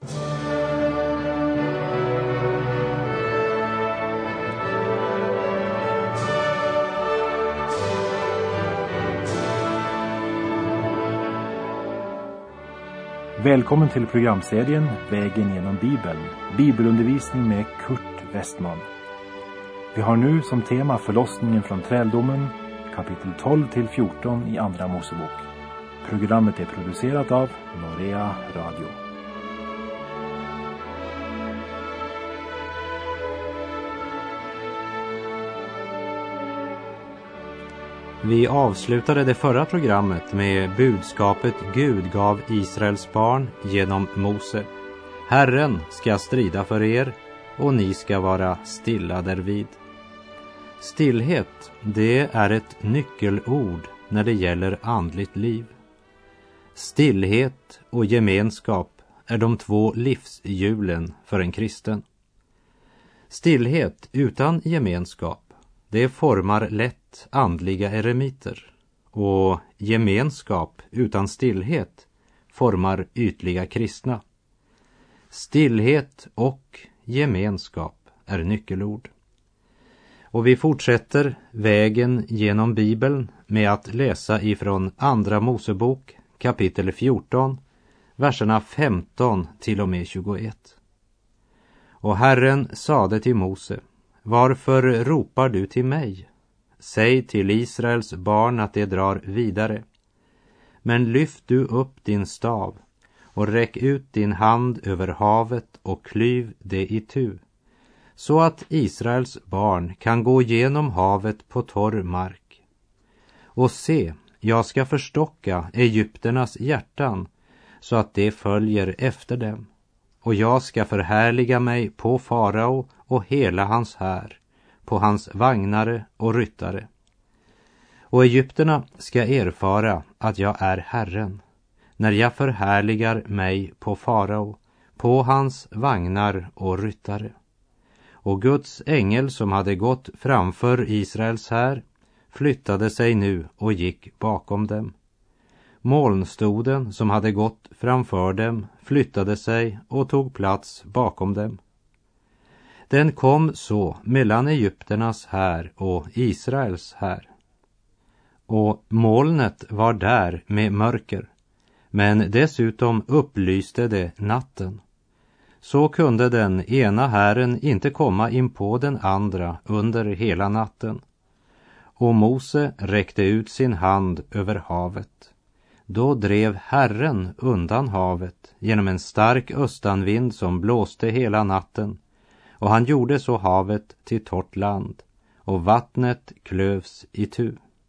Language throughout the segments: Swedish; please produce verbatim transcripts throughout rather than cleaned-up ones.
Välkommen till programserien Vägen genom Bibeln, bibelundervisning med Kurt Westman. Vi har nu som tema förlossningen från träldomen, kapitel tolv till fjorton i Andra Mosebok. Programmet är producerat av Norea Radio. Vi avslutade det förra programmet med budskapet Gud gav Israels barn genom Mose. Herren ska strida för er och ni ska vara stilla därvid. Stillhet, det är ett nyckelord när det gäller andligt liv. Stillhet och gemenskap är de två livshjulen för en kristen. Stillhet utan gemenskap, det formar lätt andliga eremiter, och gemenskap utan stillhet formar ytliga kristna. Stillhet och gemenskap är nyckelord. Och vi fortsätter vägen genom Bibeln med att läsa ifrån Andra Mosebok kapitel fjorton, verserna femton till och med tjugoett. Och Herren sade till Mose: varför ropar du till mig? Säg till Israels barn att de drar vidare. Men lyft du upp din stav och räck ut din hand över havet och klyv det itu, så att Israels barn kan gå genom havet på torr mark. Och se, jag ska förstocka egypternas hjärtan så att de följer efter dem. Och jag ska förhärliga mig på farao och hela hans här, på hans vagnare och ryttare. Och egypterna ska erfara att jag är Herren, när jag förhärligar mig på farao, på hans vagnar och ryttare. Och Guds ängel som hade gått framför Israels här flyttade sig nu och gick bakom dem. Molnstoden som hade gått framför dem flyttade sig och tog plats bakom dem. Den kom så mellan egypternas här och Israels här. Och molnet var där med mörker, men dessutom upplyste det natten. Så kunde den ena hären inte komma in på den andra under hela natten. Och Mose räckte ut sin hand över havet. Då drev Herren undan havet genom en stark östanvind som blåste hela natten, och han gjorde så havet till torrt land, och vattnet klövs itu.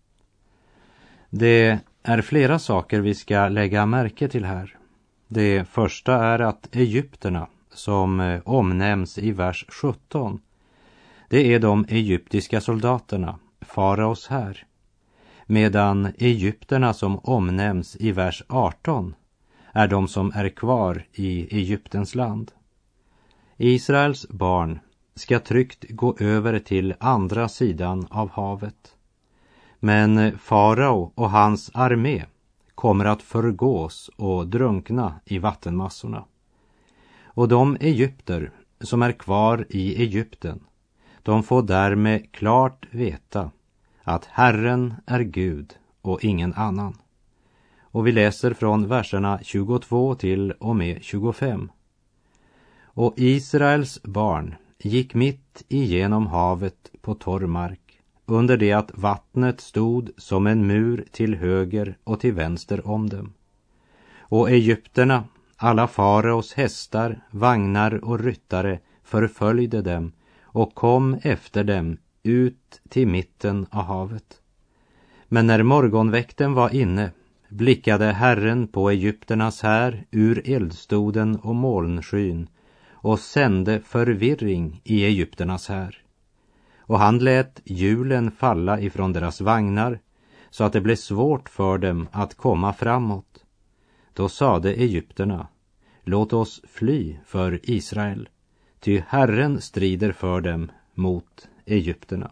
Det är flera saker vi ska lägga märke till här. Det första är att egypterna, som omnämns i vers sjutton, det är de egyptiska soldaterna, faraos här, medan egypterna som omnämns i vers arton är de som är kvar i Egyptens land. Israels barn ska tryggt gå över till andra sidan av havet. Men farao och hans armé kommer att förgås och drunkna i vattenmassorna. Och de egypter som är kvar i Egypten, de får därmed klart veta att Herren är Gud och ingen annan. Och vi läser från verserna tjugotvå till och med tjugofem. Och Israels barn gick mitt igenom havet på torr mark, under det att vattnet stod som en mur till höger och till vänster om dem. Och egypterna, alla faraos hästar, vagnar och ryttare, förföljde dem och kom efter dem ut till mitten av havet. Men när morgonväkten var inne blickade Herren på egypternas här ur eldstoden och molnskyn och sände förvirring i egypternas här. Och han lät hjulen falla ifrån deras vagnar så att det blev svårt för dem att komma framåt. Då sade egypterna: låt oss fly för Israel, ty Herren strider för dem mot egypterna.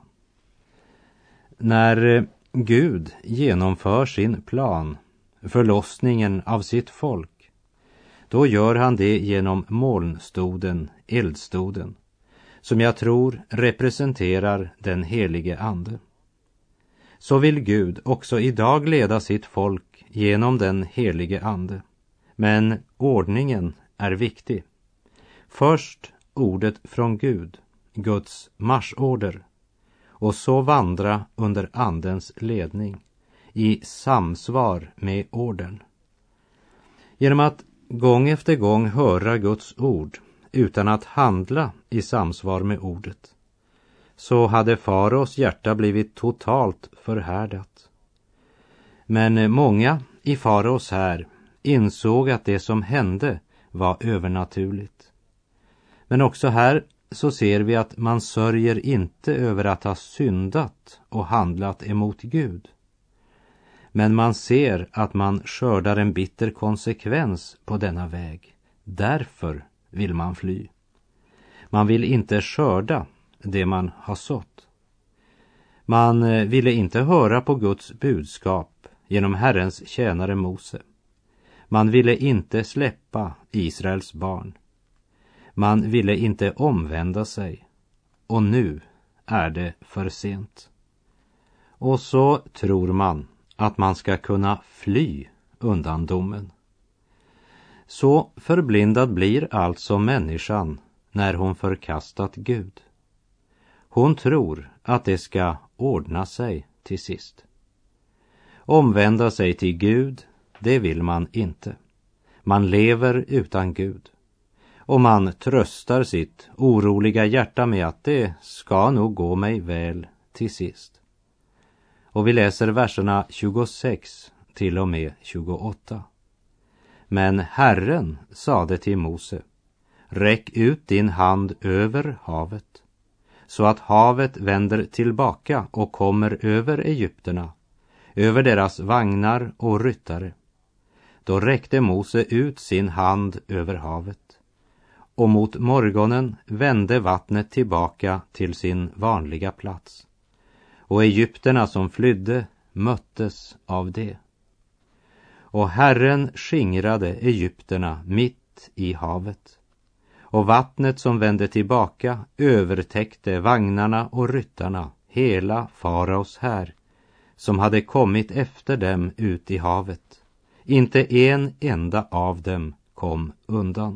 När Gud genomför sin plan, förlossningen av sitt folk, då gör han det genom molnstoden, eldstoden, som jag tror representerar den helige ande. Så vill Gud också idag leda sitt folk genom den helige ande. Men ordningen är viktig. Först ordet från Gud, Guds marschorder, och så vandra under andens ledning i samsvar med orden. Genom att gång efter gång höra Guds ord utan att handla i samsvar med ordet, så hade faraos hjärta blivit totalt förhärdat. Men många i faraos här insåg att det som hände var övernaturligt. Men också här så ser vi att man sörjer inte över att ha syndat och handlat emot Gud. Men man ser att man skördar en bitter konsekvens på denna väg. Därför vill man fly. Man vill inte skörda det man har sått. Man ville inte höra på Guds budskap genom Herrens tjänare Mose. Man ville inte släppa Israels barn. Man ville inte omvända sig. Och nu är det för sent. Och så tror man att man ska kunna fly undan domen. Så förblindad blir alltså människan när hon förkastat Gud. Hon tror att det ska ordna sig till sist. Omvända sig till Gud, det vill man inte. Man lever utan Gud. Och man tröstar sitt oroliga hjärta med att det ska nog gå mig väl till sist. Och vi läser verserna tjugosex till och med tjugoåtta. Men Herren sade till Mose: räck ut din hand över havet, så att havet vänder tillbaka och kommer över egypterna, över deras vagnar och ryttare. Då räckte Mose ut sin hand över havet, och mot morgonen vände vattnet tillbaka till sin vanliga plats. Och egypterna som flydde möttes av det. Och Herren skingrade egypterna mitt i havet. Och vattnet som vände tillbaka övertäckte vagnarna och ryttarna, hela faraos här, som hade kommit efter dem ut i havet. Inte en enda av dem kom undan.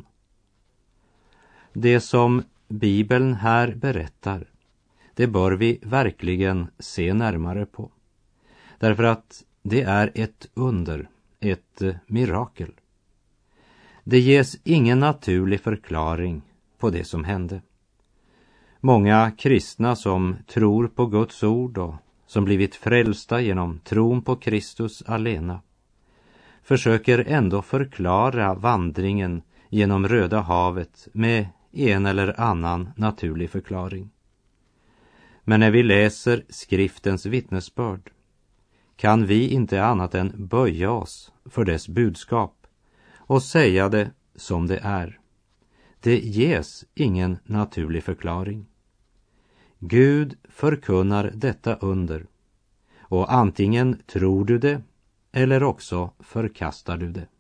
Det som Bibeln här berättar, det bör vi verkligen se närmare på. Därför att det är ett under, ett mirakel. Det ges ingen naturlig förklaring på det som hände. Många kristna som tror på Guds ord och som blivit frälsta genom tron på Kristus alena försöker ändå förklara vandringen genom Röda havet med en eller annan naturlig förklaring. Men när vi läser skriftens vittnesbörd kan vi inte annat än böja oss för dess budskap och säga det som det är. Det ges ingen naturlig förklaring. Gud förkunnar detta under, och antingen tror du det eller också förkastar du det.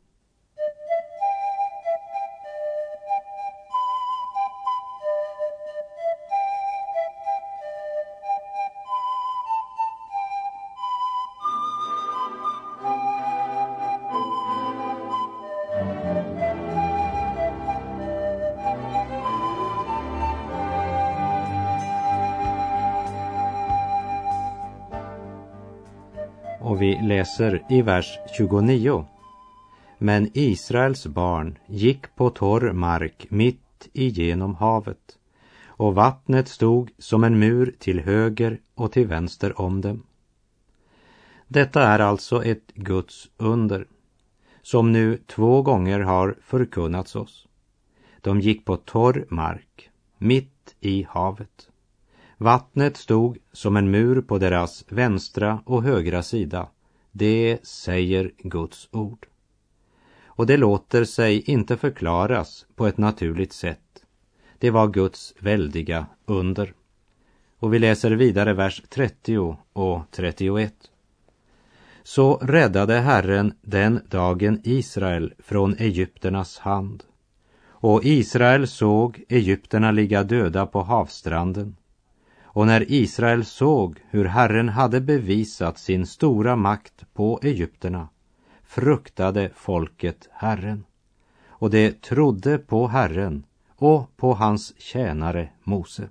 Och vi läser i vers tjugonio. Men Israels barn gick på torr mark mitt igenom havet, och vattnet stod som en mur till höger och till vänster om dem. Detta är alltså ett Guds under, som nu två gånger har förkunnats oss. De gick på torr mark, mitt i havet. Vattnet stod som en mur på deras vänstra och högra sida. Det säger Guds ord. Och det låter sig inte förklaras på ett naturligt sätt. Det var Guds väldiga under. Och vi läser vidare vers trettio och trettioett. så räddade Herren den dagen Israel från egypternas hand. Och Israel såg egypterna ligga döda på havsstranden. Och när Israel såg hur Herren hade bevisat sin stora makt på egypterna, fruktade folket Herren. Och det trodde på Herren och på hans tjänare Mose.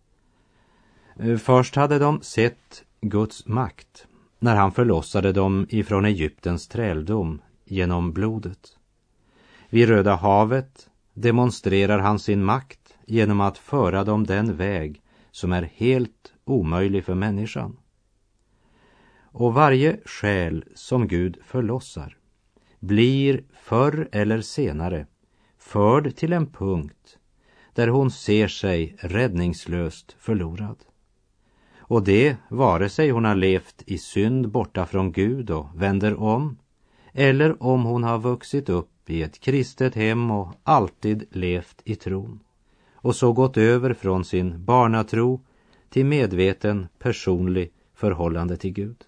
Först hade de sett Guds makt när han förlossade dem ifrån Egyptens träldom genom blodet. Vid Röda havet demonstrerar han sin makt genom att föra dem den väg som är helt omöjlig för människan. Och varje själ som Gud förlossar blir förr eller senare förd till en punkt där hon ser sig räddningslöst förlorad. Och det vare sig hon har levt i synd borta från Gud och vänder om, eller om hon har vuxit upp i ett kristet hem och alltid levt i tron, och så gått över från sin barnatro till medveten personlig förhållande till Gud.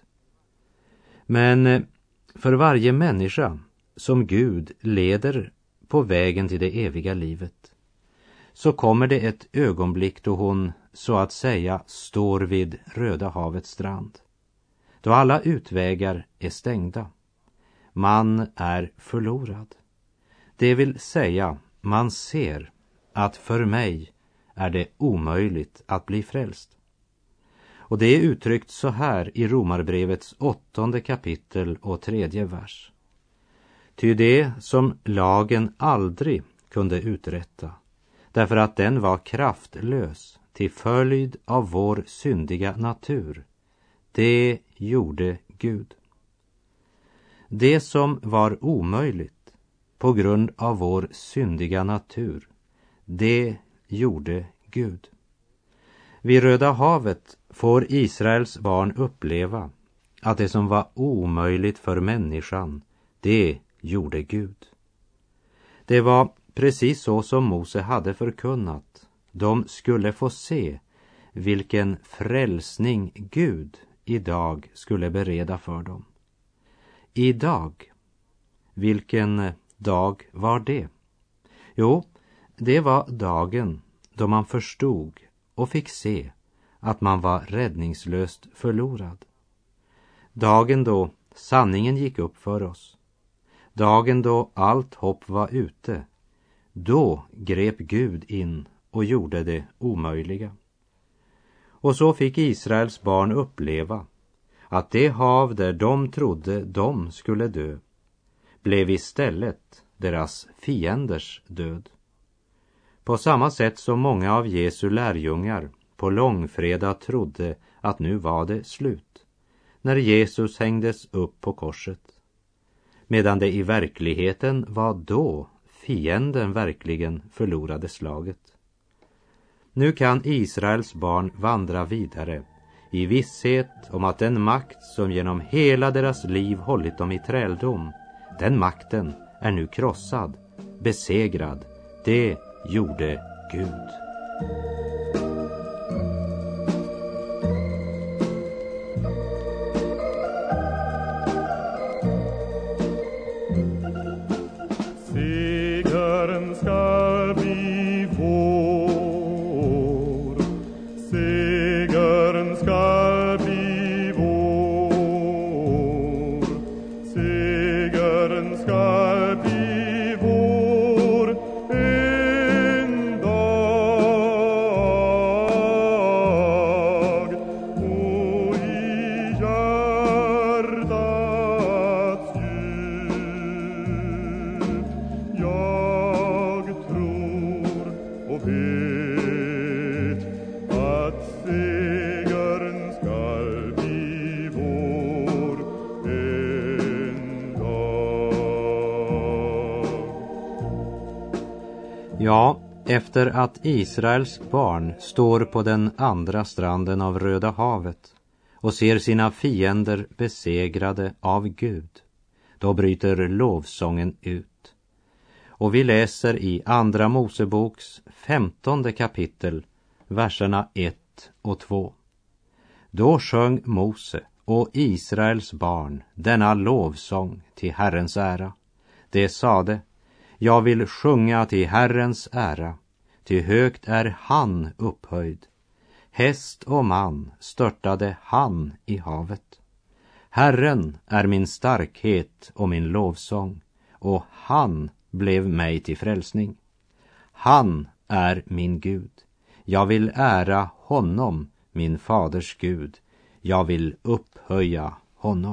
Men för varje människa som Gud leder på vägen till det eviga livet, så kommer det ett ögonblick då hon så att säga står vid Röda havets strand. Då alla utvägar är stängda. Man är förlorad. Det vill säga, man ser att för mig är det omöjligt att bli frälst. Och det är uttryckt så här i Romarbrevets åttonde kapitel och tredje vers. Ty det som lagen aldrig kunde uträtta, därför att den var kraftlös till följd av vår syndiga natur, det gjorde Gud. Det som var omöjligt på grund av vår syndiga natur, det gjorde Gud. Vid Röda havet får Israels barn uppleva att det som var omöjligt för människan, det gjorde Gud. Det var precis så som Mose hade förkunnat. De skulle få se vilken frälsning Gud idag skulle bereda för dem. Idag, vilken dag var det? Jo, det var dagen då man förstod och fick se att man var räddningslöst förlorad. Dagen då sanningen gick upp för oss. Dagen då allt hopp var ute. Då grep Gud in och gjorde det omöjliga. Och så fick Israels barn uppleva att det hav där de trodde de skulle dö blev istället deras fienders död. På samma sätt som många av Jesu lärjungar på långfredag trodde att nu var det slut, när Jesus hängdes upp på korset, medan det i verkligheten var då fienden verkligen förlorade slaget. Nu kan Israels barn vandra vidare i visshet om att den makt som genom hela deras liv hållit dem i träldom, den makten är nu krossad, besegrad. Det gjorde Gud. Segern ska bli vår, segern ska bli vår, segern ska bli vår en dag, och i hjärtats djup jag tror och vet att segern skall bli vår en dag. Ja, efter att Israels barn står på den andra stranden av Röda havet och ser sina fiender besegrade av Gud, då bryter lovsången ut. Och vi läser i andra Moseboks femtonde kapitel, verserna ett och två. Då sjöng Mose och Israels barn denna lovsång till Herrens ära. Det sade: jag vill sjunga till Herrens ära, till högt är han upphöjd. Häst och man störtade han i havet. Herren är min starkhet och min lovsång, och han blev mig till frälsning. Han är min Gud. Jag vill ära honom, min faders Gud. Jag vill upphöja honom.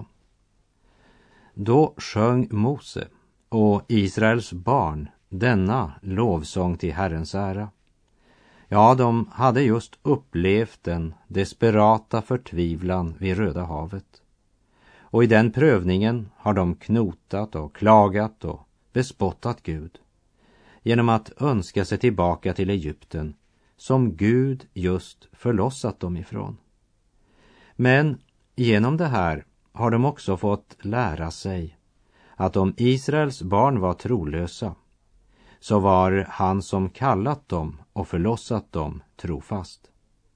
Då sjöng Mose och Israels barn denna lovsång till Herrens ära. Ja, de hade just upplevt den desperata förtvivlan vid Röda havet. Och i den prövningen har de knotat och klagat och bespottat Gud genom att önska sig tillbaka till Egypten, som Gud just förlossat dem ifrån. Men genom det här har de också fått lära sig att om Israels barn var trolösa, så var han som kallat dem och förlossat dem trofast.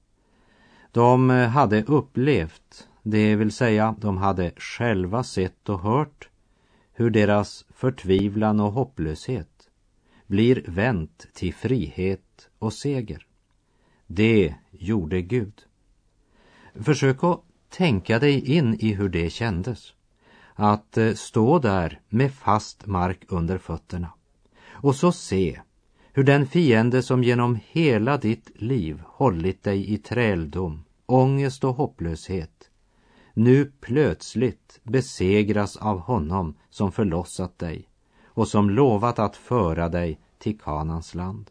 De hade upplevt, det vill säga de hade själva sett och hört hur deras förtvivlan och hopplöshet blir vänt till frihet och seger. Det gjorde Gud. Försök att tänka dig in i hur det kändes att stå där med fast mark under fötterna och så se hur den fiende som genom hela ditt liv hållit dig i träldom, ångest och hopplöshet nu plötsligt besegras av honom som förlossat dig och som lovat att föra dig till Kanans land.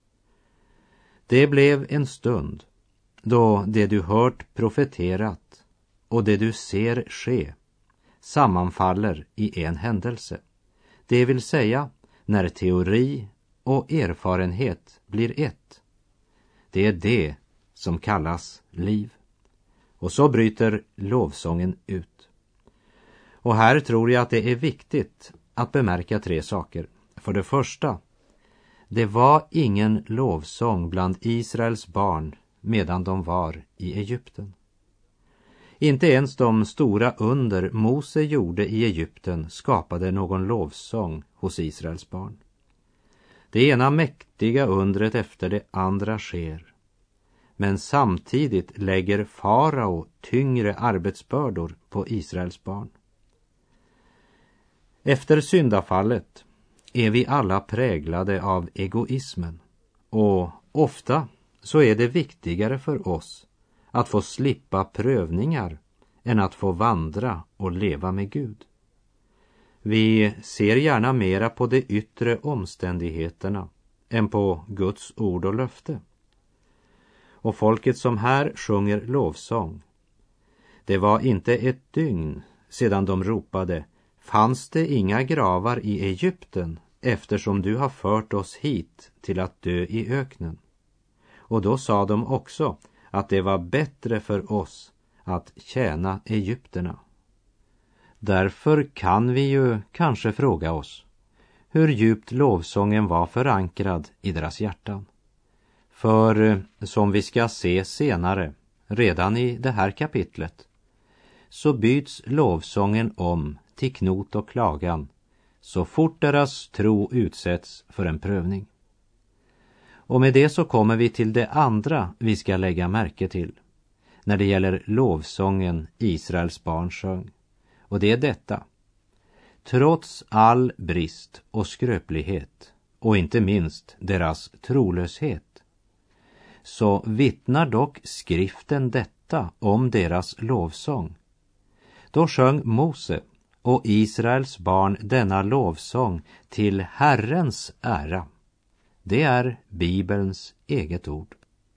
Det blev en stund då det du hört profeterat och det du ser ske sammanfaller i en händelse. Det vill säga när teori och erfarenhet blir ett. Det är det som kallas liv. Och så bryter lovsången ut. Och här tror jag att det är viktigt att bemärka tre saker. För det första, det var ingen lovsång bland Israels barn medan de var i Egypten. Inte ens de stora under Mose gjorde i Egypten skapade någon lovsång hos Israels barn. Det ena mäktiga undret efter det andra sker. Men samtidigt lägger farao tyngre arbetsbördor på Israels barn. Efter syndafallet är vi alla präglade av egoismen, och ofta så är det viktigare för oss att få slippa prövningar än att få vandra och leva med Gud. Vi ser gärna mera på de yttre omständigheterna än på Guds ord och löfte. Och folket som här sjunger lovsång, det var inte ett dygn sedan de ropade: fanns det inga gravar i Egypten eftersom du har fört oss hit till att dö i öknen? Och då sa de också att det var bättre för oss att tjäna egypterna. Därför kan vi ju kanske fråga oss hur djupt lovsången var förankrad i deras hjärtan. För som vi ska se senare, redan i det här kapitlet, så byts lovsången om till knot och klagan så fort deras tro utsätts för en prövning. Och med det så kommer vi till det andra vi ska lägga märke till när det gäller lovsången Israels barn sjöng. Och det är detta: trots all brist och skröplighet och inte minst deras trolöshet, så vittnar dock skriften detta om deras lovsång. Då sjöng Mose och Israels barn denna lovsång till Herrens ära. Det är Bibelns eget ord.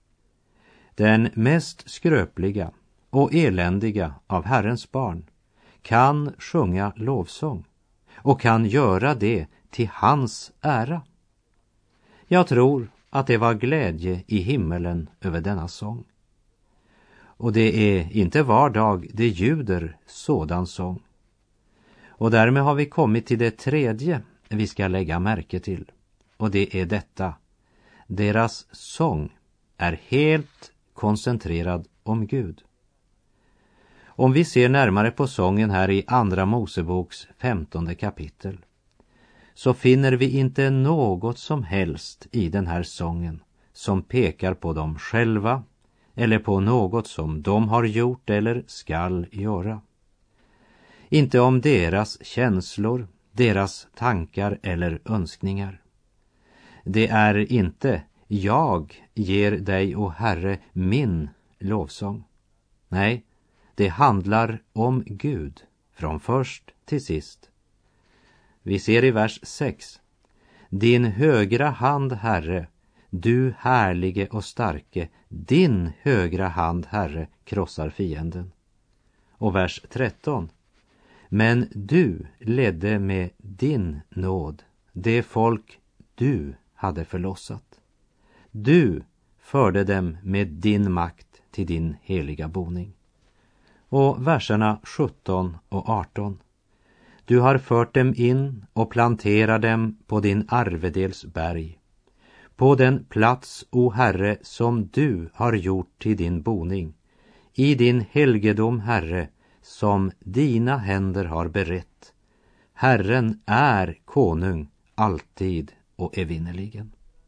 Den mest skröpliga och eländiga av Herrens barn kan sjunga lovsång och kan göra det till hans ära. Jag tror att det var glädje i himmelen över denna sång. Och det är inte var dag det ljuder sådan sång. Och därmed har vi kommit till det tredje vi ska lägga märke till. Och det är detta: deras sång är helt koncentrerad om Gud. Om vi ser närmare på sången här i Andra Moseboks femtonde kapitel, så finner vi inte något som helst i den här sången som pekar på dem själva eller på något som de har gjort eller skall göra. Inte om deras känslor, deras tankar eller önskningar. Det är inte jag ger dig, o Herre, min lovsång. Nej, det handlar om Gud från först till sist. Vi ser i vers sex. Din högra hand, Herre, du härlige och starke, din högra hand, Herre, krossar fienden. Och vers tretton. Men du ledde med din nåd det folk du hade förlossat. Du förde dem med din makt till din heliga boning. Och verserna sjutton och arton. Du har fört dem in och planterar dem på din arvedels berg, på den plats, o Herre, som du har gjort till din boning, i din helgedom, Herre, som dina händer har berett. Herren är konung alltid och evinnerligen.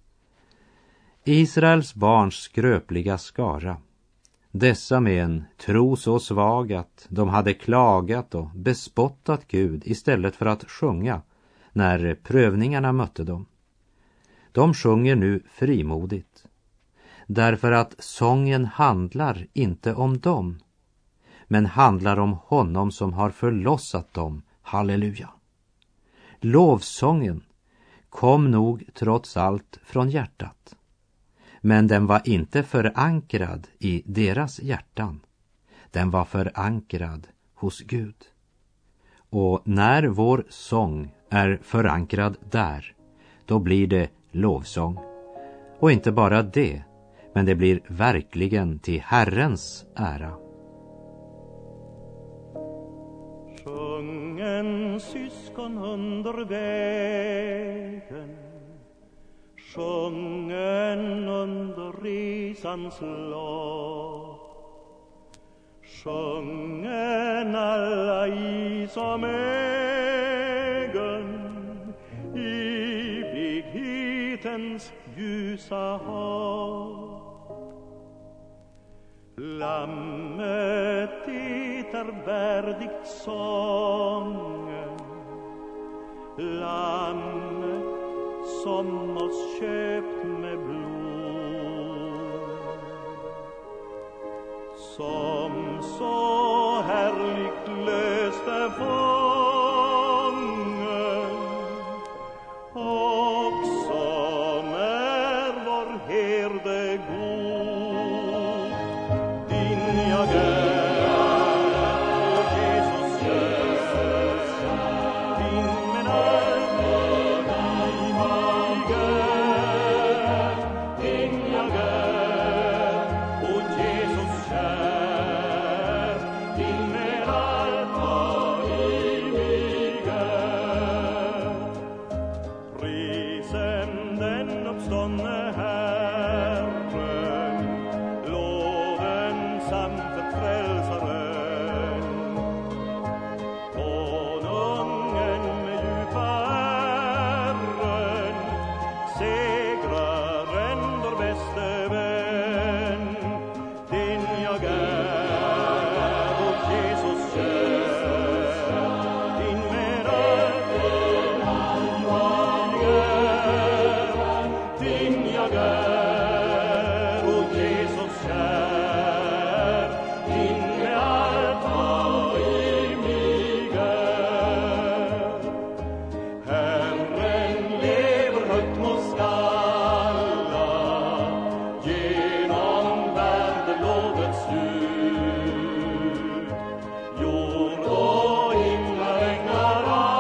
Israels barns skröpliga skara, dessa med en tro så svag att de hade klagat och bespottat Gud istället för att sjunga när prövningarna mötte dem. De sjunger nu frimodigt, därför att sången handlar inte om dem, men handlar om honom som har förlossat dem. Halleluja! Lovsången kom nog trots allt från hjärtat, men den var inte förankrad i deras hjärtan. Den var förankrad hos Gud. Och när vår sång är förankrad där, då blir det lovsång. Och inte bara det, men det blir verkligen till Herrens ära. Sjung en syskon under vägen, sjungen under resans lopp, sjungen alla i som ägen evighetens ljusa hopp. Lammet det är värdigt sången, lammet som oss köpt med blod, som så härligt löste fången och som är vår herde god. Din jag är, och Jesus Jesus, din men allt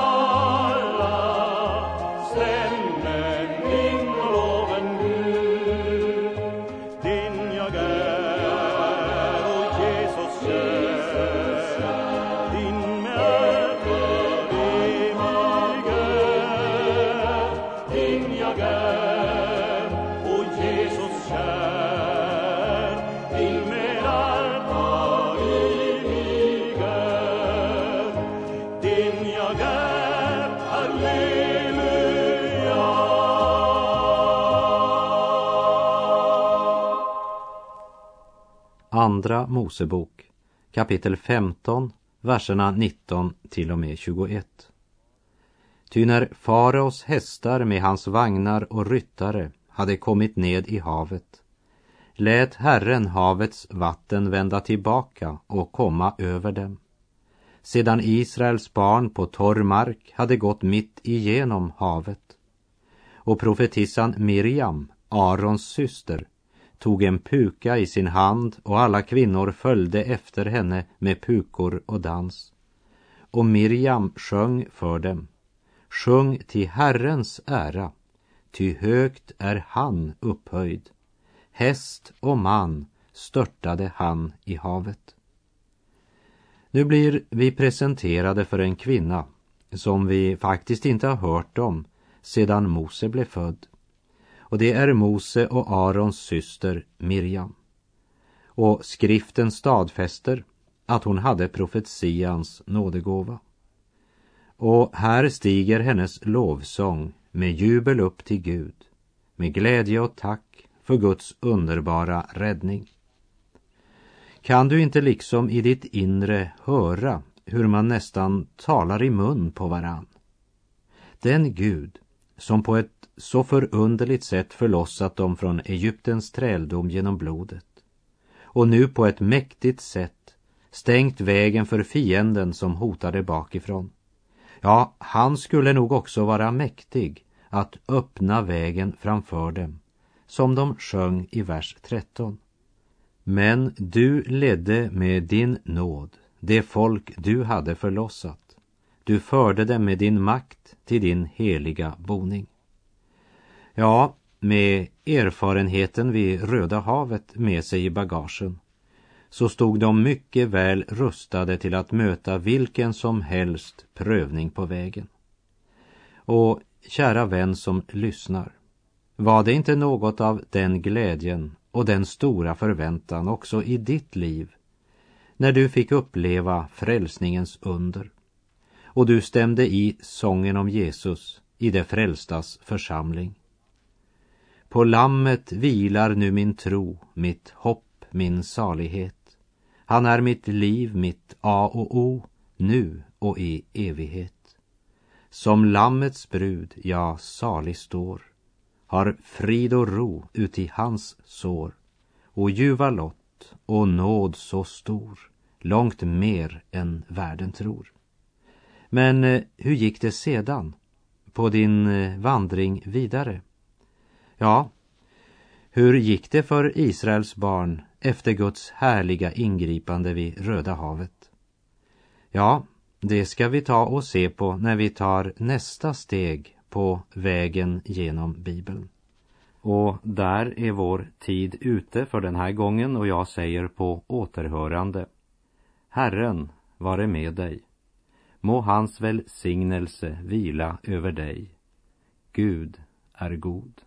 Stämmen, min loven Gud. Andra Mosebok, kapitel femton, verserna nitton till och med tjugoett. Ty när faraos hästar med hans vagnar och ryttare hade kommit ned i havet, lät Herren havets vatten vända tillbaka och komma över dem, sedan Israels barn på torr mark hade gått mitt igenom havet. Och profetissan Miriam, Arons syster, tog en puka i sin hand, och alla kvinnor följde efter henne med pukor och dans. Och Miriam sjöng för dem: sjung till Herrens ära, ty högt är han upphöjd. Häst och man störtade han i havet. Nu blir vi presenterade för en kvinna som vi faktiskt inte har hört om sedan Mose blev född. Och det är Mose och Arons syster Miriam. Och skriften stadfäster att hon hade profetians nådegåva. Och här stiger hennes lovsång med jubel upp till Gud, med glädje och tack för Guds underbara räddning. Kan du inte liksom i ditt inre höra hur man nästan talar i mun på varann? Den Gud som på ett så förunderligt sätt förlossat dem från Egyptens träldom genom blodet, och nu på ett mäktigt sätt stängt vägen för fienden som hotade bakifrån. Ja, han skulle nog också vara mäktig att öppna vägen framför dem, som de sjöng i vers tretton. Men du ledde med din nåd det folk du hade förlossat. Du förde dem med din makt till din heliga boning. Ja, med erfarenheten vid Röda havet med sig i bagagen, så stod de mycket väl rustade till att möta vilken som helst prövning på vägen. Och kära vän som lyssnar, var det inte något av den glädjen och den stora förväntan också i ditt liv när du fick uppleva frälsningens under, och du stämde i sången om Jesus i det frälstas församling? På lammet vilar nu min tro, mitt hopp, min salighet. Han är mitt liv, mitt A och O, nu och i evighet. Som lammets brud, ja, salig står, har frid och ro uti hans sår, och ljuva lott och nåd så stor, långt mer än världen tror. Men eh, hur gick det sedan på din eh, vandring vidare? Ja, hur gick det för Israels barn efter Guds härliga ingripande vid Röda havet? Ja, det ska vi ta och se på när vi tar nästa steg på vägen genom Bibeln. Och där är vår tid ute för den här gången, och jag säger på återhörande: Herren vare med dig. Må hans välsignelse vila över dig. Gud är god.